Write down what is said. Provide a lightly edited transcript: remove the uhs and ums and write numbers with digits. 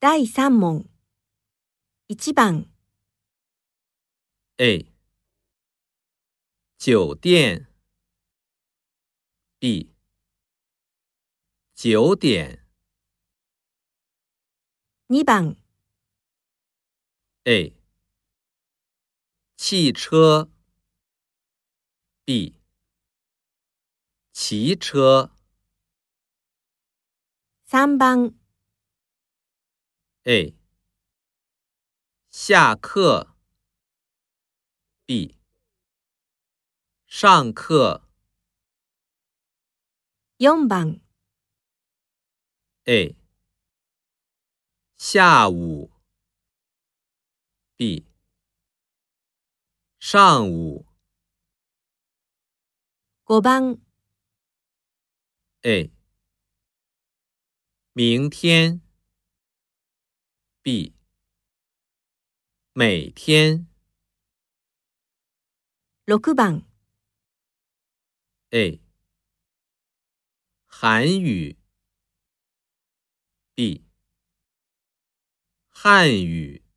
第3問。1番、 A. 酒店 B. 9点 2番、 A. 汽车 B. 骑车 3番、 A. 下课 B. 上课 4番、 A. 下午 B. 上午 5番、 A. 明天 B. 每天 6番、 A. 韩语 B. 汉语